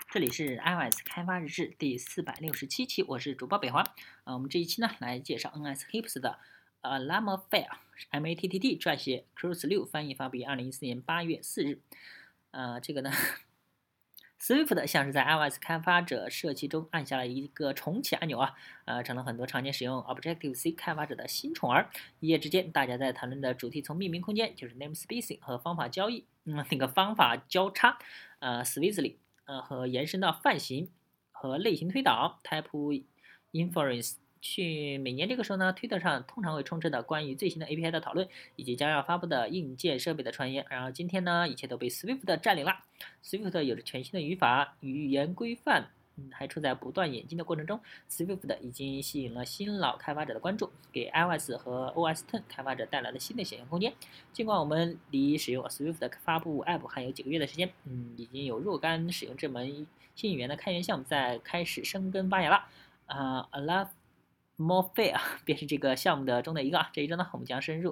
这里是 iOS 开发日志第467期，我是主播北华。我们这一期呢来介绍 NSHIPS 的Llama.Fair，MATTT 撰写 Cruz6 翻译，发布于2014年8月4日。这个呢，Swift 像是在 iOS 开发者社区中按下了一个重启按钮成了很多常年使用 Objective-C 开发者的新宠儿。一夜之间，大家在谈论的主题从命名空间，就是 namespacing 和方法交易，方法交叉，Swiftly。和延伸到泛型和类型推导 （Type Inference）。每年这个时候呢，推特上通常会充斥的关于最新的 API 的讨论，以及将要发布的硬件设备的传言。然后今天呢，一切都被 Swift 占领了。Swift 有着全新的语法、语言规范，还处在不断演进的过程中。Swift 已经吸引了新老开发者的关注，给 iOS 和 OS X 开发者带来了新的想象空间。尽管我们离使用 Swift 的发布 App 还有几个月的时间，已经有若干使用这门新语言的开源项目在开始生根发芽了。Alamofire 便是这个项目中的一个。这一周呢，我们将深入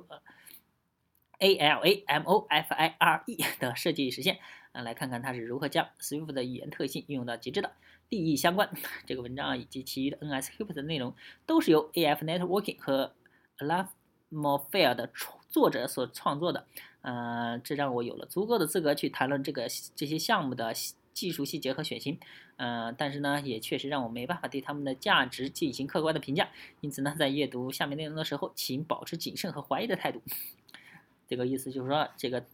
Alamofire 的设计实现，来看看它是如何将 Swift 的语言特性运用到极致的。利益相关，这个文章以及其余的 NSHIPS 的内容都是由 AF Networking 和 Alamofire 的作者所创作的。这让我有了足够的资格去谈论这些项目的技术细节和选型。但是呢，也确实让我没办法对他们的价值进行客观的评价。因此呢，在阅读下面内容的时候，请保持谨慎和怀疑的态度。这个意思就是说，这个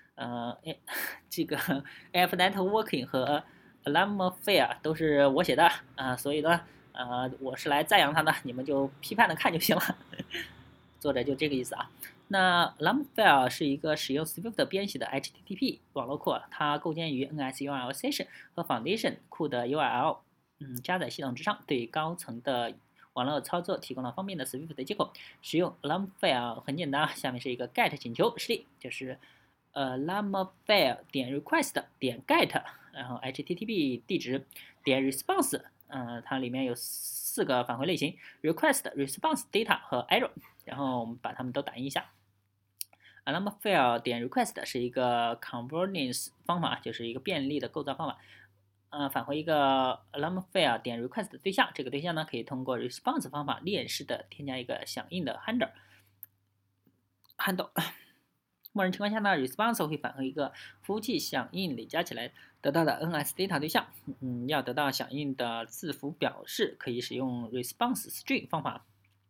AF Networking 和 Alamofire 都是我写的所以呢，我是来赞扬他的，你们就批判的看就行了。作者就这个意思啊。那 Llama.Fair 是一个使用 Swift 编写的 HTTP 网络库，它构建于 NSURL Session 和 Foundation 库的 URL 加载系统之上，对高层的网络操作提供了方便的 Swift 的接口。使用 Llama.Fair 很简单下面是一个 GET 请求实例，就是Llama.Fair 点 request 点 get， 然后 HTTP 地址点 response，它里面有4个返回类型 ：request、response、data 和 error。然后我们把它们都打印一下。Llama.Fair 点 request 是一个 convenience 方法，就是一个便利的构造方法。返回一个 Llama.Fair 点 request 的对象，这个对象呢可以通过 response 方法链式的添加一个响应的 handle。默认情况下呢 ，response 会返回一个服务器响应累加起来得到的 NSData 对象。要得到响应的字符表示，可以使用 response string 方法。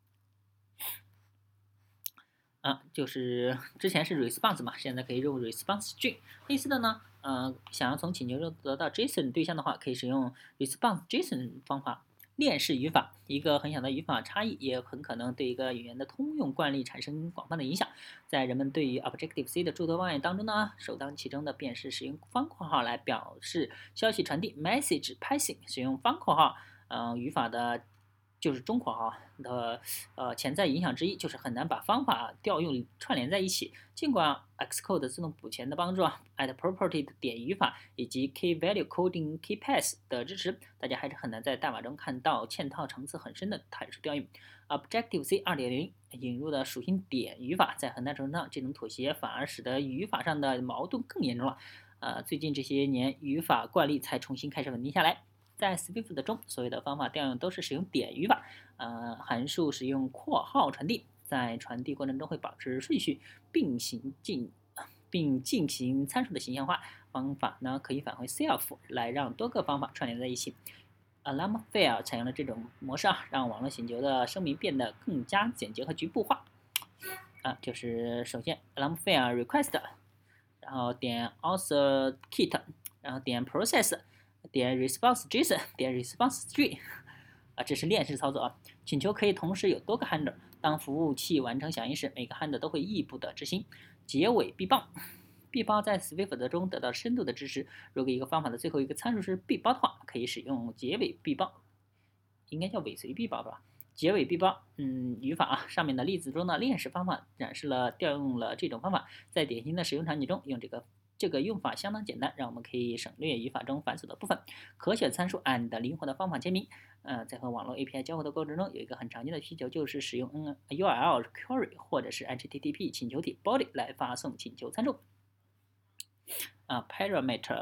就是之前是 response 嘛，现在可以用 response string。类似的呢，想要从请求中得到 JSON 对象的话，可以使用 response JSON 方法。链式语法，一个很小的语法差异，也很可能对一个语言的通用惯例产生广泛的影响。在人们对于 Objective-C 的诸多方案当中呢，首当其冲的便是使用方括号来表示消息传递 （message passing）。使用方括号，语法的。就是中括号的潜在影响之一，就是很难把方法调用串联在一起。尽管 Xcode 自动补全的帮助，@property 的点语法以及 Key Value Coding KeyPass 的支持，大家还是很难在代码中看到嵌套层次很深的函数调用。Objective-C 2.0引入的属性点语法，在很大程度上，这种妥协反而使得语法上的矛盾更严重了。最近这些年，语法惯例才重新开始稳定下来。在 Swift 中，所有的方法调用都是使用点语法，函数使用括号传递，在传递过程中会保持顺序，并进行参数的形象化。方法呢可以返回 self 来让多个方法串联在一起。Llama.Fair 采用了这种模式让网络请求的声明变得更加简洁和局部化。就是首先 Llama.Fair request， 然后点 author kit， 然后点 process。点 response JSON 点 response string， 这是链式操作请求可以同时有多个 handler， 当服务器完成响应时，每个 handler 都会异步的执行。结尾闭包，闭包在 Swift 中得到深度的支持。如果一个方法的最后一个参数是闭包的话，可以使用结尾闭包，应该叫尾随闭包吧？结尾闭包，语法上面的例子中的链式方法展示了调用了这种方法，在典型的使用场景中用这个用法相当简单，让我们可以省略语法中繁琐的部分。可选参数 and 灵活的方法签名。在和网络 API 交互的过程中，有一个很常见的需求，就是使用URL query 或者是 HTTP 请求体 body 来发送请求参数。parameter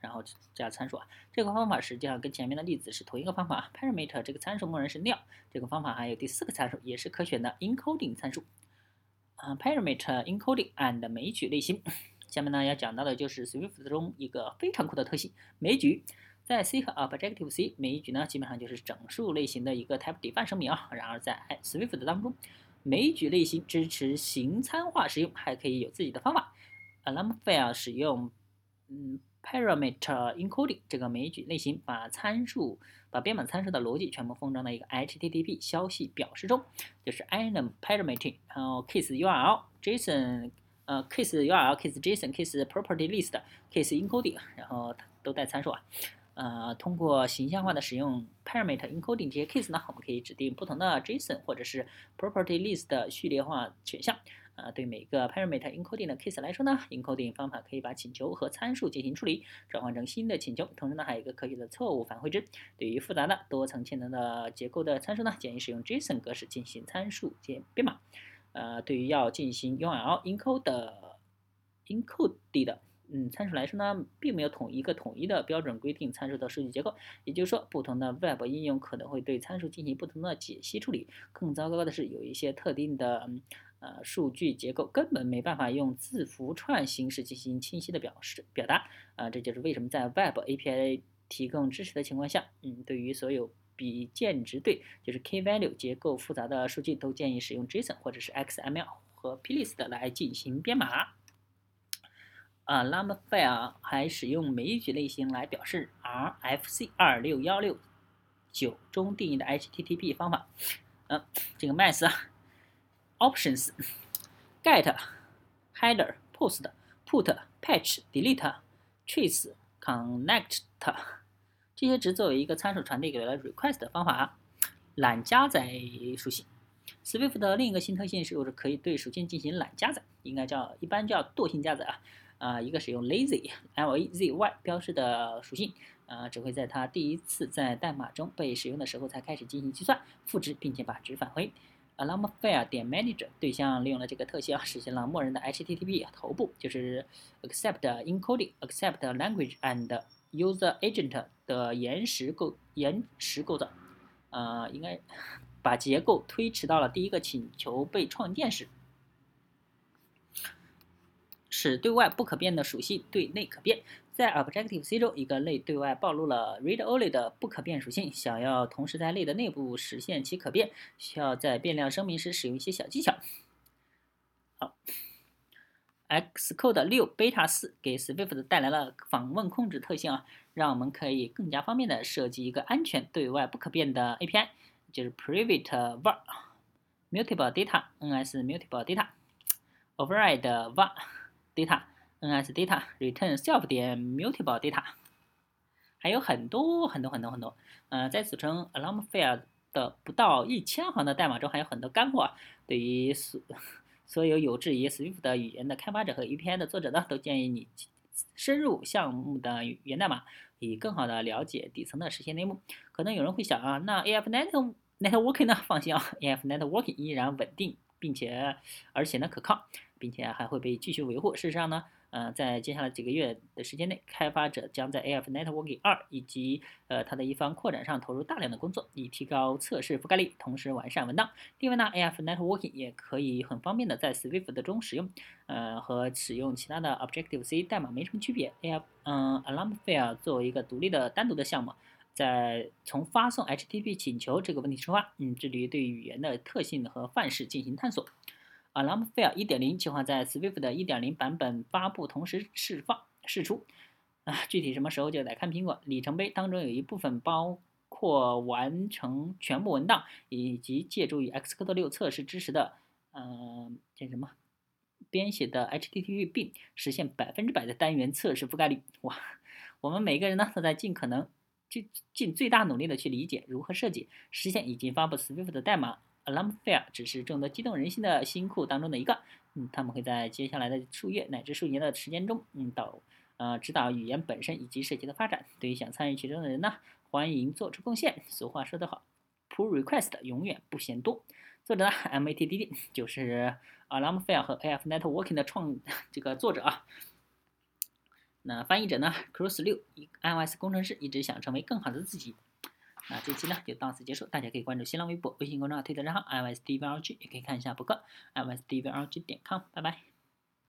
然后加参数啊。这个方法实际上跟前面的例子是同一个方法。parameter 这个参数默认是nil，这个方法还有第4个参数，也是可选的 encoding 参数。parameter encoding and 枚举类型。下面呢要讲到的就是 Swift 中一个非常酷的特性枚举。在 C 和 Objective C 枚举呢，基本上就是整数类型的一个 type define 声明啊。然而在 Swift 当中，枚举类型支持形参化使用，还可以有自己的方法。Alarmfire 使用parameter encoding 这个枚举类型，把编码参数的逻辑全部封装在一个 HTTP 消息表示中，就是 enum parameter， 然后 case URL JSON case URL case JSON case property list case encoding， 然后都带参数啊。通过形象化的使用 parameter encoding 这些 case 呢，我们可以指定不同的 JSON 或者是 property list 的序列化选项。对每个 parameter encoding 的 case 来说呢 ，encoding 方法可以把请求和参数进行处理，转换成新的请求。同时呢，还有一个科学的错误返回值。对于复杂的多层嵌能的结构的参数呢，建议使用 JSON 格式进行参数编码。对于要进行 URL encode 的参数来说呢，并没有统一的标准规定参数的数据结构，也就是说，不同的 Web 应用可能会对参数进行不同的解析处理。更糟糕的是，有一些特定的数据结构根本没办法用字符串形式进行清晰的表达。这就是为什么在 Web API 提供支持的情况下，对于所有比键值对，就是 key value 结构复杂的数据，都建议使用 JSON 或者是 XML 和 plist 来进行编码。Alarmfire 还使用枚举类型来表示 RFC 26169中定义的 HTTP 方法。这个 math options get header post put patch delete trace connect 这些值作为一个参数传递给了 request 的方法。懒加载属性 Swift 的另一个新特性是可以对属性进行懒加载，一般叫惰性加载一个使用 lazy lazy 标示的属性，只会在它第一次在代码中被使用的时候才开始进行计算、赋值，并且把值返回。Alarmfire 点 manager 对象利用了这个特性实现了默认的 HTTP 头部，就是 accept encoding、accept language and user agent 的延时构造。应该把结构推迟到了第一个请求被创建时，使对外不可变的属性对内可变。在 Objective C 中，一个类对外暴露了 read-only 的不可变属性，想要同时在类的内部实现其可变，需要在变量声明时使用一些小技巧。好。Xcode 6 Beta 4给 Swift 带来了访问控制特性让我们可以更加方便的设计一个安全对外不可变的 API， 就是 private var mutable data ns mutable data override var data ns data return self 点 mutable data， 还有很多。在此称 Alarmfire 的不到1000行的代码中还有很多干货对于所有志于 Swift 语言的开发者和 API 的作者呢，都建议你深入项目的源代码，以更好的了解底层的实现内幕。可能有人会想那 AF Networking 呢？放心AF Networking 依然稳定，而且呢可靠，并且还会被继续维护。事实上呢，在接下来几个月的时间内，开发者将在 AF Networking 2以及它的一方扩展上投入大量的工作，以提高测试覆盖率，同时完善文档。另外呢 ，AF Networking 也可以很方便的在 Swift 中使用，和使用其他的 Objective C 代码没什么区别。Alarmfire 作为一个单独的项目，从发送 HTTP 请求这个问题出发，致力于对语言的特性和范式进行探索。Alarmfire 1.0 计划在 Swift 的 1.0 版本发布同时释出，具体什么时候就得看苹果。里程碑当中有一部分包括完成全部文档，以及借助于 Xcode 6测试支持的编写的 HTTP 并实现100%的单元测试覆盖率。哇，我们每个人呢都在尽最大努力的去理解如何设计、实现以及发布 Swift 的代码。Alarmfire 只是众多激动人心的新库当中的一个，他们会在接下来的数月乃至数年的时间中，指导语言本身以及设计的发展。对于想参与其中的人呢，欢迎做出贡献。俗话说得好 ，Pull request 永远不嫌多。作者呢 MATDD 就是 Alarmfire 和 AF Networking 的这个作者那翻译者呢，Cross6，iOS 工程师，一直想成为更好的自己。那这期呢就到此结束，大家可以关注新浪微博、微信公众号、推特账号 iOS DVLG，也可以看一下博客 iOS DVLG.com，拜拜。